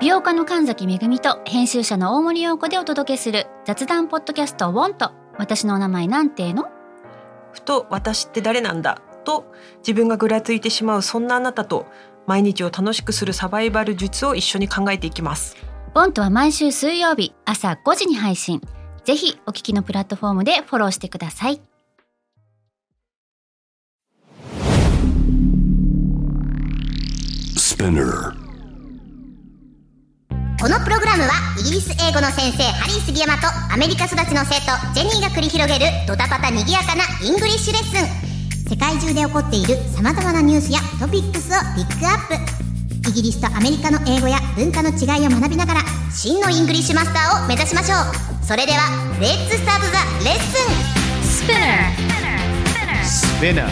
美容家の神崎めぐみと編集者の大森洋子でお届けする雑談ポッドキャストウォンと私のお名前なんての。 ふと私って誰なんだと自分がぐらついてしまうそんなあなたと毎日を楽しくするサバイバル術を一緒に考えていきます。 ウォンとは毎週水曜日朝5時に配信。ぜひお聞きのプラットフォームでフォローしてください。 このプログラムはイギリス英語の先生ハリー杉山とアメリカ育ちの生徒ジェニーが繰り広げるドタパタにぎやかなイングリッシュレッスン。世界中で起こっている様々なニュースやトピックスをピックアップ。イギリスとアメリカの英語や文化の違いを学びながら真のイングリッシュマスターを目指しましょう。それではレッツスタートザレッスン。 Spinner.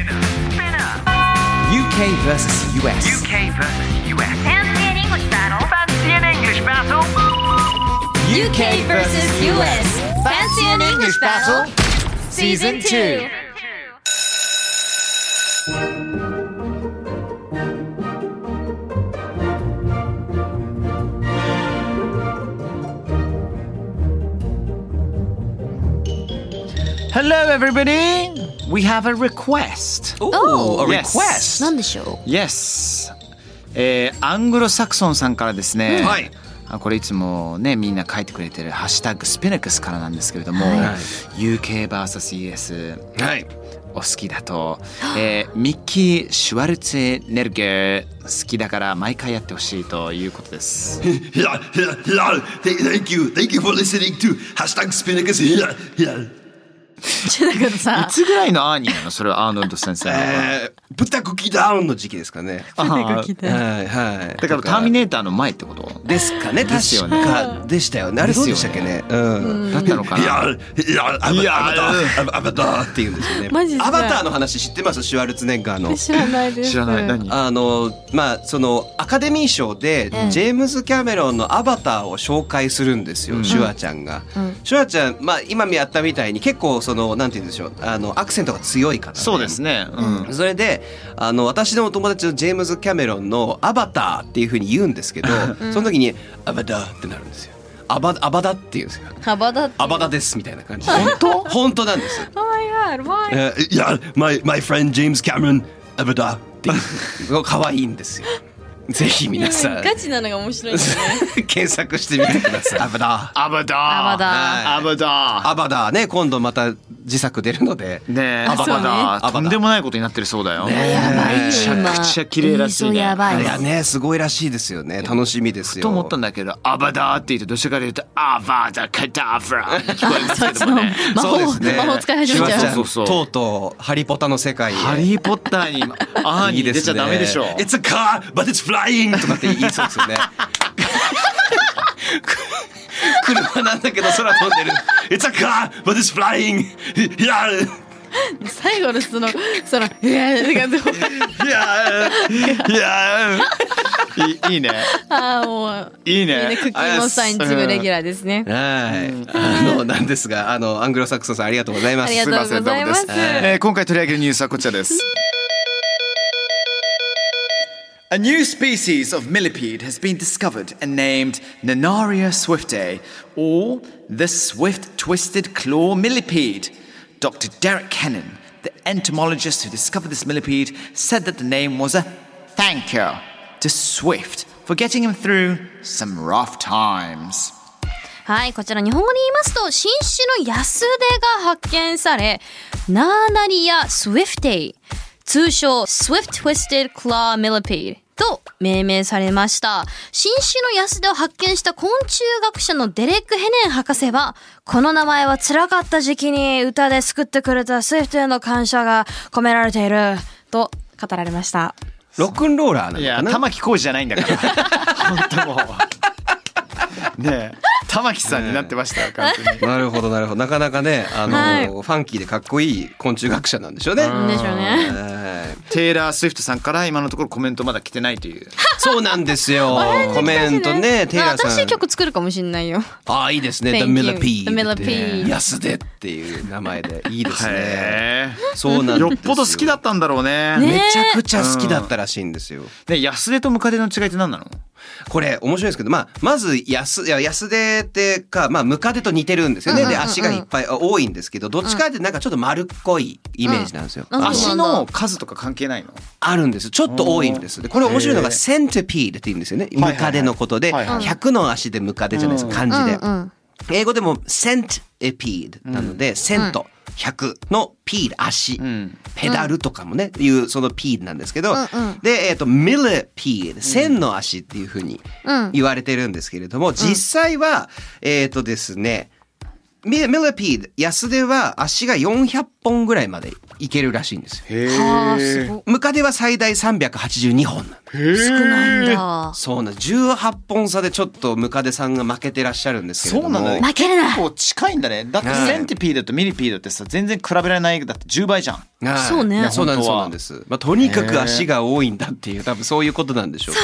UK versus US. Fancy an English battle. UK versus US. Fancy an English battle. Season 2. Hello, everybody. We have a request. Oh, a Yes. request. なんでしょう。 Yes. アングロサクソンさんからですね。 はい。 これいつもねみんな書いてくれてるハッシュタグスピナクスからなんですけれども、 はい UK vs US はい。 お好きだと、ミッキー・シュワルツェネルゲー好きだから毎回やってほしいということです。 Thank you for listening to #Spinnacus. だからさいつぐらいのアーニーなのそれはアーノルド先生の、 豚コキダウンの時期ですかね。 あーはいはい。 だからターミネーターの前ってことですかね。 ですよね確かでしたよね。あれどうでしたっけね。うん。 だったのかな。 アバターっていうんですよね。 マジっすかアバターの話知ってます？シュワルツェネッガーの。 知らないです。 知らない。何？ まあそのアカデミー賞でジェームズ・キャメロンのアバターを紹介するんですよ、シュワちゃんが。シュワちゃん、まあ今やったみたいに結構そのなんて言うんでしょう、アクセントが強い方、ね。 そうですね。 それで私のお友達のジェームズ・キャメロンのアバターっていう風に言うんですけど、その時にアバターってなるんですよ。アバダって言うんですよ。 アバダって。 アバダですみたいな感じで。本当なんです。 Oh my god, why? my friend James Cameron アバターって可愛いんですよ。ぜひ皆さんガチなのが面白いですね。 検索してみてください。アバダー。 アバダー。 アバダーアバダー。 アバダーね、今度また自作出るので。 ねえ、 あそうねアバダー。とんでもないことになってるそうだよ。 やばいよめちゃくちゃ綺麗らしいね。 やばいいやね、すごいらしいですよね。楽しみですよ。 と思ったんだけど、アバダーって言うとどちらかというとアバダカダフラ聞こえますけどもね。 そうですね。 魔法使い始めちゃうシュワちゃんそうとうとうハリポタの世界へ。 ハリーポッターにアーニー出ちゃダメでしょ。 It's a car but it's flying とかって言いそうですよね。車なんだけど空飛んでる。 It's a car but it's flying 最後のそのいやいいね。 ああもういいね。 クッキーモンスターにチームレギュラーですね。 はい。なんですが、アングロサクソンさんありがとうございます。 ありがとうございます。 すいませんどうもです今回取り上げるニュースはこちらです。A new species of millipede has been discovered and named Nanaria swiftae, or the swift-twisted claw millipede. Dr. Derek Kennan, the entomologist who discovered this millipede, said that the name was a thank you to Swift for getting him through some rough times. はい、こちら日本語で言いますと新種のヤスデが発見され、ナーナリアスウィフテイ、通称 Swift Twisted Claw Millipede と命名されました。新種のヤスデを発見した昆虫学者のデレック・ヘネン博士は、この名前は辛かった時期に歌で救ってくれたスイフトへの感謝が込められていると語られました。 ロックンローラーなのかな。 いや、玉置浩二じゃないんだから本当もうねえ、玉木さんになってましたよ完全に。 なるほどなるほど。なかなかね、 はいファンキーでかっこいい昆虫学者なんでしょうね。 でしょうね。 テイラー・スウィフトさんから今のところコメントまだ来てないという。 そうなんですよ。コメントね、テイラーさん。 新しい曲作るかもしれないよ。 ああ、いいですね。 Thank The you. Millipede The Millipede 安手っていう名前でいいですね。 へそうなんですよ。 よっぽど好きだったんだろうね。 めちゃくちゃ好きだったらしいんですよ。 で、安手とムカデの違いって何なの？ これ面白いですけど、まず安手ってか、ムカデと似てるんですよね。で足がいっぱい多いんですけど、どっちかってなんかちょっと丸っこいイメージなんですよ。 足の数とか関係ないの？ あるんです。ちょっと多いんです。でこれ面白いのがセンテピードって言うんですよね。ムカデのことで、100の足でムカデじゃないですか、漢字で。英語でもセンテピードなので、セント100のピード足、ペダルとかもねいうそのピードなんですけど、でミリピード1000の足っていうふうに言われてるんですけれども、実際はですね、ミリピード安手は足が400本ぐらいまでいけるらしいんですよ。ムカデは最大382本なんです。 少ないんだ。 そうなん、18本差でちょっとムカデさんが負けてらっしゃるんですけれども。 そうなんだね。 負けるな。 結構近いんだね。だってセンティピードとミリピードってさ、全然比べられない。だって10倍じゃん。 そうね。 そうなんです。とにかく足が多いんだっていう、多分そういうことなんでしょう。 そう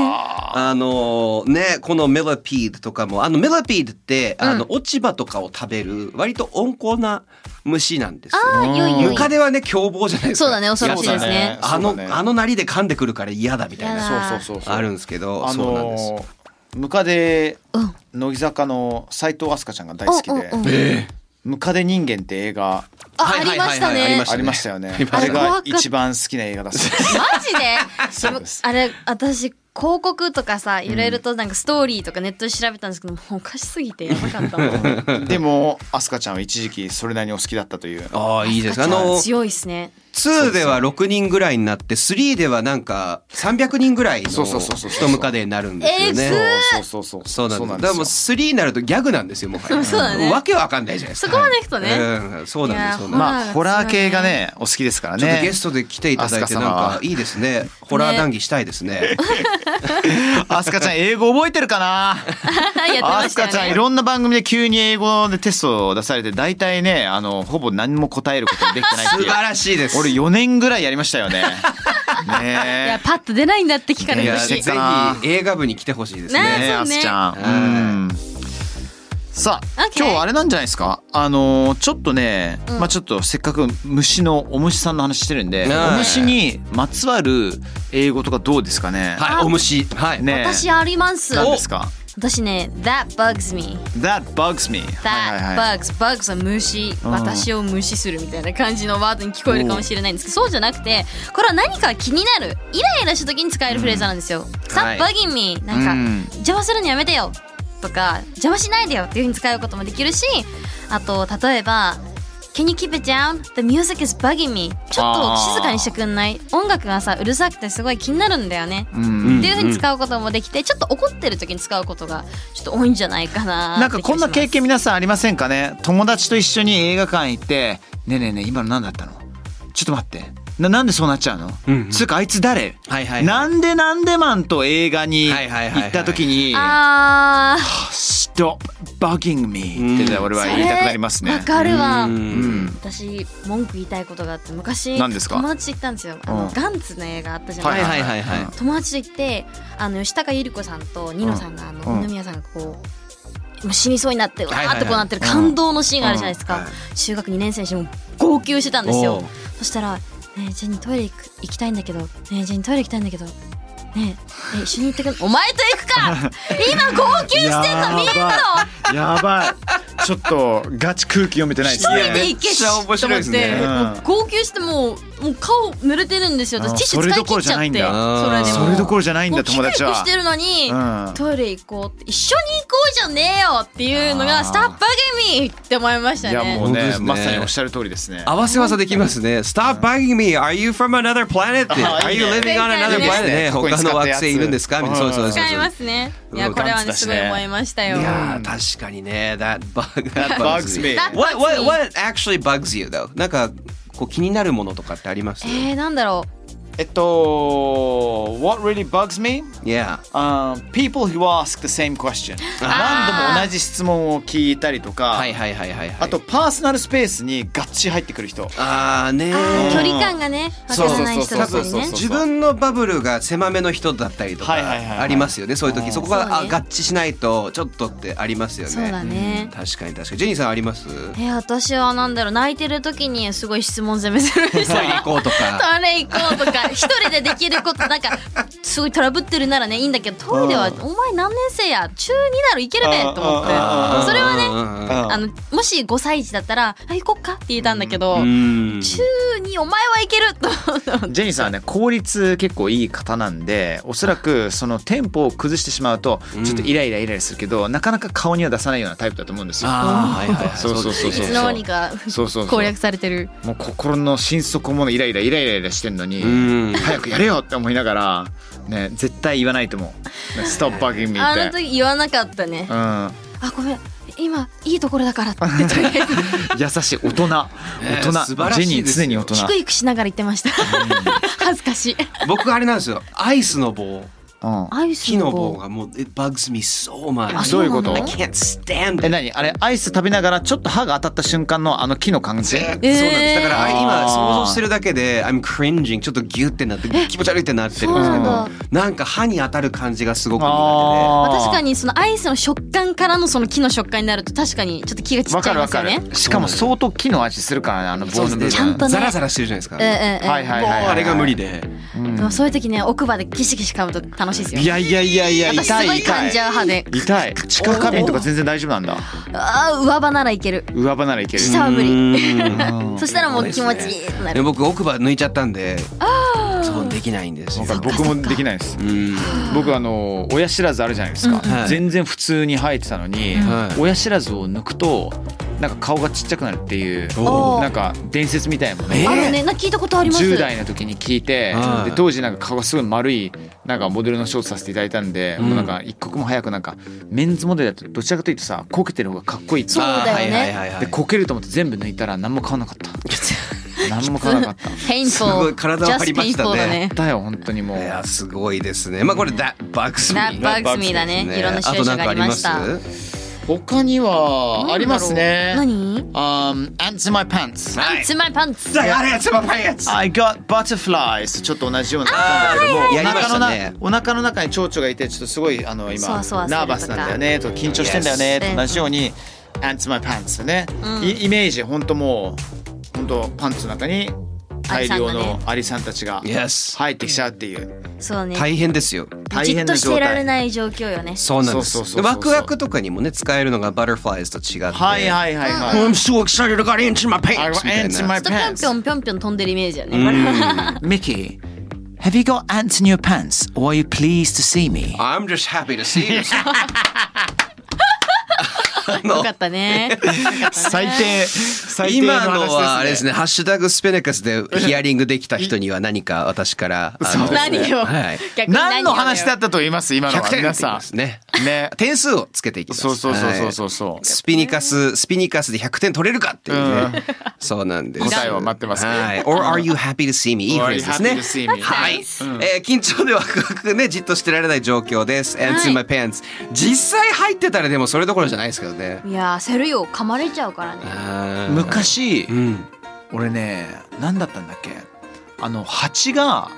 ですね。このミリピードとかも、ミリピードって落ち葉とかを食べる割と温厚な虫なんですよ。ムカデはね凶暴じゃないですか。 そうだね、恐ろしいですね。 あのなりで噛んでくるから嫌だみたいな。 そうあるんですけど、そうなんです。 ムカデ乃木坂の斉藤飛鳥ちゃんが大好きで、ムカデ人間って映画ありましたね。 ありましたよね。あれが一番好きな映画だそうです。 マジで？あれ私広告とかさ、いろいろとなんかストーリーとかネットで調べたんですけど、もうおかしすぎてやばかったもん。 でも飛鳥ちゃんは一時期それなりにお好きだったという。 ああ、いいです。 強いですね。 2では6人ぐらいになって3ではなんか300人ぐらいの一ムカデになるんですよね。そうなんです。でも3になるとギャグなんですよ、もはや。 そうだね。 わけわかんないじゃないですか。 そこまでいくとね。 そうなんです。 まあホラー系がねお好きですからね。 ちょっとゲストで来ていただいてなんかいいですね。ホラー談義したいですね。 飛鳥ちゃん英語覚えてるかな？飛鳥ちゃんいろんな番組で急に英語でテストを出されて、大体ねほぼ何も答えることができてないっていう。 素晴らしいです。 俺4年ぐらいやりましたよね。 いやパッと出ないんだって聞かれるし、 ぜひ映画部に来てほしいですね。 あすちゃん。さあ今日あれなんじゃないですか。ちょっとね、ちょっとせっかくお虫さんの話してるんで、お虫にまつわる英語とかどうですかね。 はい、お虫。はい。 ね。私あります。 何ですか。 私ね、that bugs me. That bugs me. That bugs は虫、私を無視するみたいな感じのワードに聞こえるかもしれないんですけど、そうじゃなくて、これは何か気になる、イライラした時に使えるフレーズなんですよ。Stop bugging me. なんか邪魔するのやめてよとか、邪魔しないでよっていう風に使うこともできるし、あと例えばCan you keep it down? The music is bugging me. ちょっと静かにしてくんない？音楽がさうるさくてすごい気になるんだよね。っていう風に使うこともできて、ちょっと怒ってる時に使うことがちょっと多いんじゃないかな。 なんかこんな経験皆さんありませんかね。友達と一緒に映画館行って、ねえねえねえ今の何だったの？ちょっと待って。なんでそうなっちゃうの？つうかあいつ誰？なんでマンと映画に行った時にStop bugging me って俺は言いたくなりますね。 わかるわ。私文句言いたいことがあって、昔友達と行ったんですよ。ガンツの映画あったじゃないですか。友達と行って吉高由里子さんとニノさんが二宮さんがこう死にそうになってわーってこうなってる感動のシーンがあるじゃないですか。中学2年生にしても号泣してたんですよ。そしたらねえジェニートイレ行きたいんだけど、ねえジェニートイレ行きたいんだけど、ねえ一緒に行ってくる。お前と行くか。今号泣してんの見えるの？ やばい。ちょっとガチ空気読めてないですね。 一人で行けしと思って、号泣してもう顔濡れてるんですよ。私ティッシュ使い切っちゃって。 それどころじゃないんだ。友達はしてるのにトイレ行こうって、一緒に行こうじゃねえよっていうのが Stop bugging me って思いましたね。 いやもうね、まさにおっしゃる通りですね。 合わせ技できますね。Stop bugging me. Are you from another planet? Are you living on another planet? ね、他の惑星いるんですか？みたいな。そう使いますね。いやこれはねすごい思いましたよ。 いや確かにね。That bugs me. What actually bugs you though? なんかこう気になるものとかってあります？ なんだろう。 What really bugs me? Yeah. People who ask the same question. 何度も同じ質問を聞いたりとか、あとパーソナルスペースにガッチリ入ってくる人。 距離感がね分からない人だったりね。 自分のバブルが狭めの人だったりとかありますよね。そういう時そこが合致しないとちょっとってありますよね。 そうだね。 確かにジェニーさんあります？ 私はなんだろう、泣いてる時にすごい質問攻めする人。 トイレ行こうとか。 トイレ行こうとか。 一人でできることなんかすごいトラブってるならねいいんだけど、トイレはお前何年生や中2だろいけるべと思って、それはねもし5歳児だったら行こっかって言えたんだけど、中2お前はいけるとジェニーさんはね効率結構いい方なんで、おそらくそのテンポを崩してしまうとちょっとイライラするけど、なかなか顔には出さないようなタイプだと思うんですよ。そういつの間にか攻略されてる。 もう心の心底もイライラしてんのに早くやれよって思いながらね、絶対言わないと思う。ストップバギングってあの時言わなかったね。あごめん今いいところだからって優しい大人、ジェニー常に大人。 低くしながら言ってました恥ずかしい。 僕あれなんですよ、アイスの棒、 木の棒がもう it bugs me so much。 どういうこと？ I can't stand it。 何あれ、アイス食べながらちょっと歯が当たった瞬間のあの木の感じ。 そうなんです。だから今想像してるだけで I'm cringing、 ちょっとギュってなって気持ち悪いってなってるんですけど、なんか歯に当たる感じがすごく苦手で、 確かにそのアイスの食感からのその木の食感になると確かにちょっと気がちっちゃいますよね。 わかる。しかも相当木の味するからね、あの棒の部分。 ちゃんとねザラザラしてるじゃないですか。 あれが無理で、 でもそういう時ね奥歯でギシギシ噛むと楽しいですよ。 いや私すごい噛んじゃう歯で。 痛い。地下花瓶とか全然大丈夫なんだ。 上歯ならいける。 上歯ならいける。 下は無理そしたらもう気持ちいいってなる。 僕奥歯抜いちゃったんでそうできないんですよ。 僕もできないです。僕親知らずあるじゃないですか、全然普通に生えてたのに、親知らずを抜くとなんか顔がちっちゃくなるっていうなんか伝説みたいなもんね。 聞いたことあります。 10代の時に聞いて、で当時なんか顔がすごい丸いなんかモデルのショートさせていただいたんで、もうなんか一刻も早くなんかメンズモデルだとどちらかというとさ、こけてる方がかっこいいって。 そうだよね。 でこけると思って全部抜いたら何も変わんなかった何も変わらなかった。 ペインフォー。 すごい体を張りましたね。 だよ本当にもう。いやすごいですね。まあこれ That bugs me。 That bugs me だね。いろんなシチュエーションがありました。 他にはありますね。 何 ？Ants in my pants。 Ants in my pants。 Ants in my pants。 I got butterflies。ちょっと同じような感じだけども、 やりましたね。 お腹の中に蝶々がいてちょっとすごい今ナーバスなんだよねと緊張してんだよねと同じように Ants in my pants ね。イメージ本当もう本当パンツの中に大量のアリさんたちが入ってきちゃうっていう。 そうね。 大変ですよ。 じっとしていられない状況よね。 そうなんです。ワクワクとかにもね使えるのがバタフライズと違って。 はい。 I'm so excited I got ants in my pants。 ants in my pants。 ぴょんぴょん飛んでるイメージよね。 Mickey, have you got ants in your pants, or are you pleased to see me? I'm just happy to see you。 よかったね。 最低今のはあれですね。ハッシュタグスペネカスでヒアリングできた人には何か私から何を何の話だったと言います？今のは皆さんね。点数をつけていきます。 そうスピニカスで100点取れるかっていうね。そうなんです。 答えを待ってます。 Or are you happy to see me？ いいフレーズですね。はい。緊張でワクワクねじっとしてられない状況です。Ants in my pants。実際入ってたらでもそれどころじゃないですけどね。 いや焦るよ、噛まれちゃうからね。 昔、俺ね何だったんだっけ、蜂が、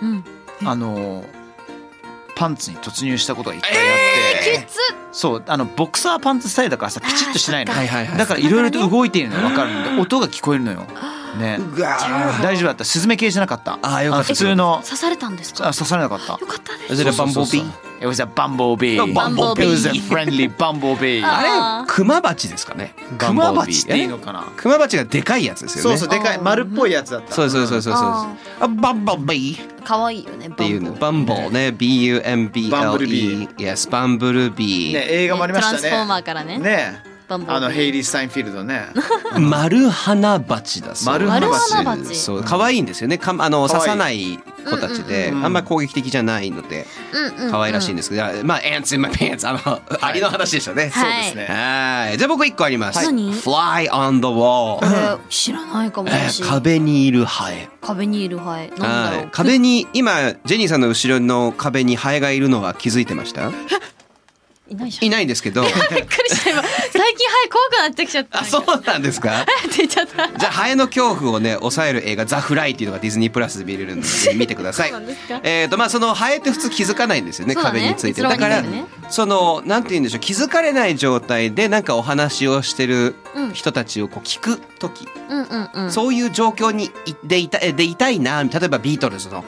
パンツに突入したことが一回あって、 きつ。 そうボクサーパンツスタイルだからさピチッとしてないの、だからいろいろと動いているのが分かるんで音が聞こえるのよね。大丈夫だった。スズメ系じゃなかった。普通の。 刺されたんですか？ 刺されなかった。 よかったです。 Is it a bumblebee? It was a bumblebee. It was a friendly bumblebee. あれクマバチですかね。 クマバチっていいのかな。 クマバチがでかいやつですよね。 そうでかい丸っぽいやつだった。 そう。バンボビー。 可愛いよね。 っていうの。バンボね。BUMBLE。Yes、バンブルビー。 ね映画もありましたね。 トランスフォーマーからね。 ね。ヘイリー・スタインフィールドね。 マルハナバチだそう。 マルハナバチ。 そう可愛いんですよね。刺さない子たちで、あんまり攻撃的じゃないので可愛らしいんですけど、まあ Ants in my pants アリの話でしたね。 そうですね。 はい。じゃあ僕1個あります。 何？ Fly on the wall。 知らないかもしれない。 壁にいるハエ。 壁にいるハエ。なんだろう。 壁に今ジェニーさんの後ろの壁にハエがいるのは気づいてました？いないんですけど。びっくりした今。最近ハエ怖くなってきちゃった。 あ、そうなんですか？ って言っちゃった。 じゃあハエの恐怖をね抑える映画ザ・フライっていうのがディズニープラスで見れるので見てください。まあそのハエって普通気づかないんですよね、壁について。だからそのなんて言うんでしょう、気づかれない状態でなんかお話をしてる人たちをこう聞く時、そういう状況にでいたいな。例えばビートルズの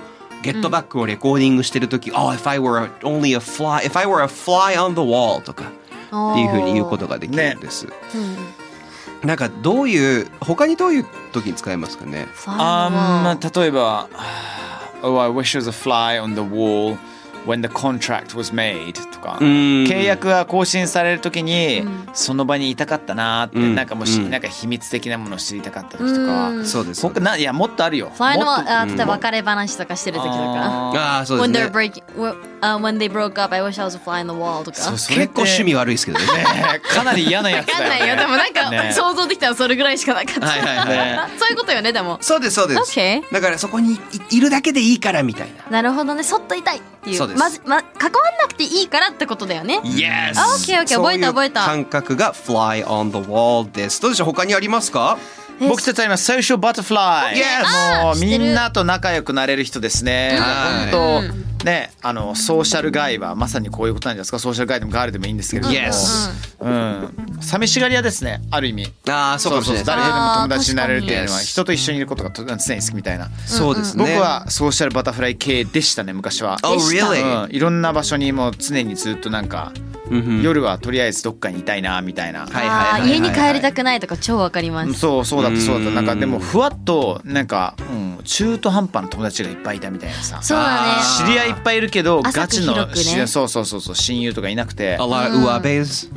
ゲットバックをレコーディングしてるとき、if I were only a fly, if I were a fly on the wall とかっていうふうに言うことができるんです。なんか他にどういう時に使えますかね。 例えばOh, I wish there was a fly on the wall when the contract was made とか、契約が更新されるときにその場にいたかったなって、なんかもし、なんか秘密的なものを知りたかった時とか、 そうです。 いやもっとあるよ。 ファイナル例えば別れ話とかしてる時とか、 そうですね。 When they broke up, I wish I was a fly on the wall とか。 結構趣味悪いですけどね。 かなり嫌なやつだよね。 わかんないよ。でもなんか想像できたらそれぐらいしかなかった。そういうことよねでも。 そうです。だからそこにいるだけでいいからみたいな。 なるほどね。そっといたいっていう。関わんなくていいからってことだよね。 Yes。 OK 覚えた。 感覚が fly on the wall です。どうでしょう、他にありますか？ 僕たちあります。ソーシャルバタフライ。もうみんなと仲良くなれる人ですね。本当ね、ソーシャルガイはまさにこういうことなんじゃないですか。ソーシャルガイでもガールでもいいんですけれども、寂しがり屋ですね、ある意味。 そうかもしれないです。 誰でも友達になれるっていうのは人と一緒にいることが常に好きみたいな。 そうですね。 僕はソーシャルバタフライ系でしたね、昔は。 Really？ いろんな場所にもう常にずっとなんか夜はとりあえずどっかにいたいなみたいな。 家に帰りたくないとか超わかります。 そうだった。なんかでもふわっとなんか中途半端な友達がいっぱいいたみたいなさ。 そうだね。 知り合いいっぱいいるけどガチのそう親友とかいなくて。 ウワベイズ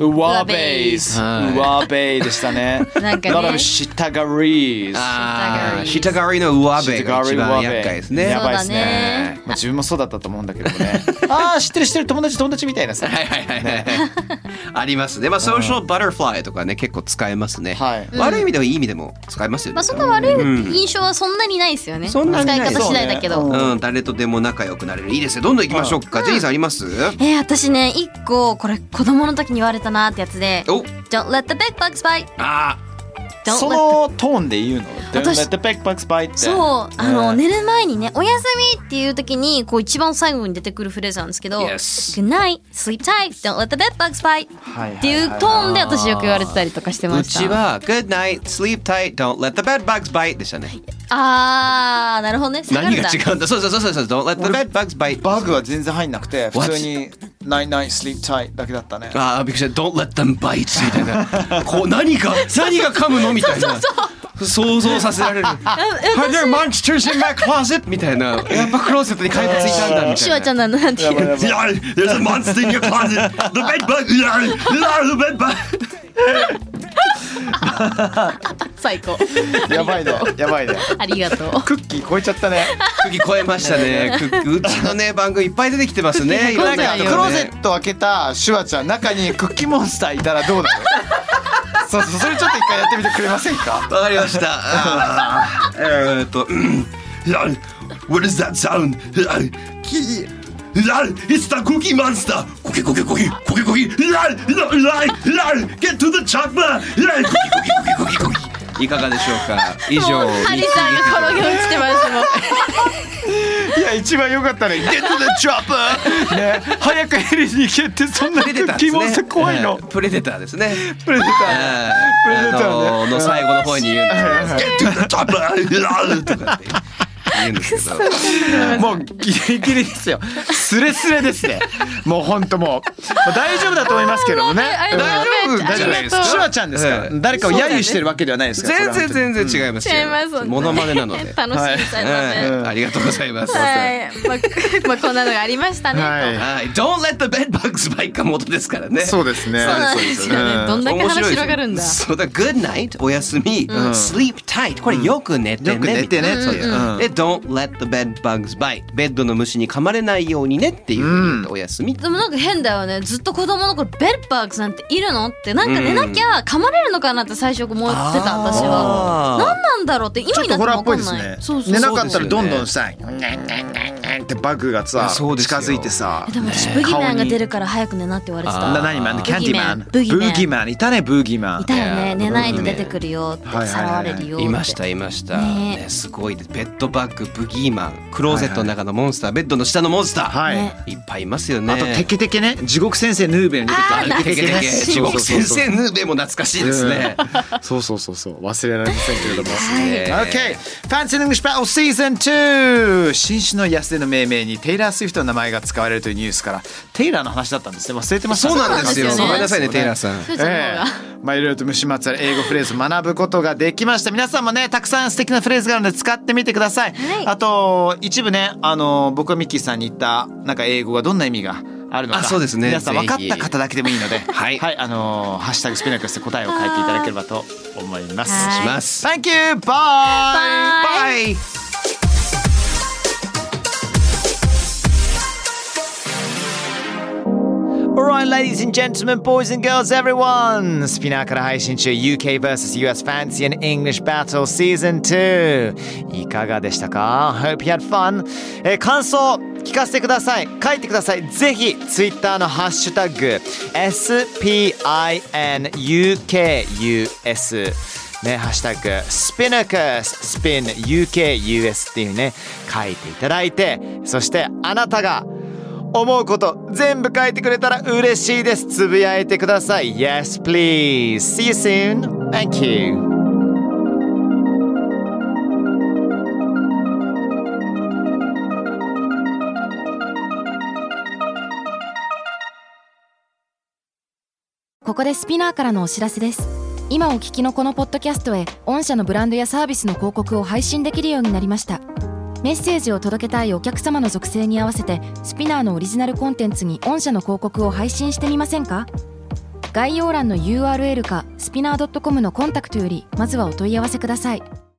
でしたね。 なんかね。 A lot of 下狩り。 下狩りのウワベが一番厄介ですね。 やばいですね。自分もそうだったと思うんだけどね。知ってる友達みたいなさ。 ありますね。ソーシャルバタフライとかね結構使えますね。悪い意味でもいい意味でも使えますよね。 そんな悪い印象はそんなにないですよね。使い方次第だけど。 誰とでも仲良くなれる。いいですよ。どんどん行きましょうか。ジェニーさんあります？ 私ね一個これ子供の時に言われたなってやつで。Don't let the big bugs bite。 そのトーンで言うの？ Don't let the big bugs bite って。 そう寝る前にねおやすみっていう時にこう一番最後に出てくるフレーズなんですけど、Good night, sleep tight, don't let the bed bugs bite っていうトーンで私よく言われてたりとかしてました。 うちは Good night, sleep tight, don't let the bed bugs bite でしたね。 なるほどね。 何が違うんだ。そう Don't let the bed bugs bite。 バグは全然入んなくて普通にNight night sleep tight だけだったね。 びっくりした。Don't let them bite みたいな。こう何が噛むのみたいな。想像させられる。Are there monsters in my closet? みたいな。やっぱクローゼットに帰ってついたんだみたいな。 シュワちゃんなんて言う。 There's a monster in your closet. The bed bug. The bed bug. 最高。 やばいね。 ありがとう。 クッキー超えちゃったね。 クッキー超えましたね。うちのね番組いっぱい出てきてますね。 なんかクローゼット開けたシュワちゃん中にクッキーモンスターいたらどうなる？それちょっと一回やってみてくれませんか？ わかりました。 What does that sound? It's the Cookie Monster. Cookie. Get to the chopper. Cookie. いかがでしょうか。以上。 ハリさんが転げ落ちてましたもん。 いや一番良かったね。Get to the chopper。ね、早くヘリに行けってそんなクッキーモンスター怖いの。 プレデターですね。 プレデターの最後の方に言うんです。Get to the chopper とかって。言うんですけどもうギリギリですよ。スレスレですね。もう本当もう大丈夫だと思いますけどもね。大丈夫です。シュワちゃんですから。誰かを�a揄してるわけではないですから。 全然違います。モノマネなので。 楽しみさね。 ありがとうございます。 まあこんなのがありましたね。 Don't let the bed bugs bite が元ですからね。 そうですね。 そうなんですよね。どんだけ話広がるんだ。 そうだ。Good night おやすみ。Sleep tight これよく寝てね。で Don't let the bed bugs bite ベッドの虫に噛まれないようにねっていうおやすみ。 でもなんか変だよね。ずっと子供の頃ベッドバグズなんているのってなんか寝なきゃ噛まれるのかなって最初思ってた私は。何なんだろうって今になっても分かんない。 寝なかったらどんどんさってバグがさ近づいてさ。 でも私ブギーマンが出るから早く寝なって言われてた。 何マン？キャンディマン？ブギーマンいたね。ブギーマンいたよね。寝ないと出てくるよってさらわれるよって。 いましたね。すごいです。ベッドバッグブギーマンクローゼットの中のモンスターベッドの下のモンスターいっぱいいますよね。 あとテケテケね。地獄先生ヌーベに出てきた。 テケテケ地獄先生ヌーベも懐かしいですね。 そう忘れられませんけれども。Okay, Fancy English Battle Season 2 新種の安手のの命名にテイラー・スウィフトの名前が使われるというニュースからテイラーの話だったんですね。忘れてましたね。 そうなんですよ。 そうなんですよねごめんなさいねテイラーさん。 ふーちゃんの方がまあいろいろと虫まつわる英語フレーズを学ぶことができました。皆さんもねたくさん素敵なフレーズがあるので使ってみてください。あと一部ね僕がミッキーさんに言ったなんか英語がどんな意味があるのか、 そうですね、 皆さん分かった方だけでもいいのではい、 ハッシュタグスピナクスで答えを書いていただければと思います。 はいします。 Thank you! Bye! Bye! Alright, ladies and gentlemen, boys and girls, everyone! スピナーから配信中 UK vs.US Fancy and English Battle Season 2いかがでしたか？ Hope you had fun! 感想聞かせてください。書いてください。ぜひ Twitter のハッシュタグ SPINUKUS ね、ハッシュタグ SPINUKUS SPINUKUS っていうね書いていただいて、そしてあなたが思うこと全部書いてくれたら嬉しいです。つぶやいてください。 Yes, please. See you soon. Thank you. ここでスピナーからのお知らせです。今お聞きのこのポッドキャストへ御社のブランドやサービスの広告を配信できるようになりました。メッセージを届けたいお客様の属性に合わせてスピナーのオリジナルコンテンツに御社の広告を配信してみませんか？概要欄の URL かスピナー .com のコンタクトよりまずはお問い合わせください。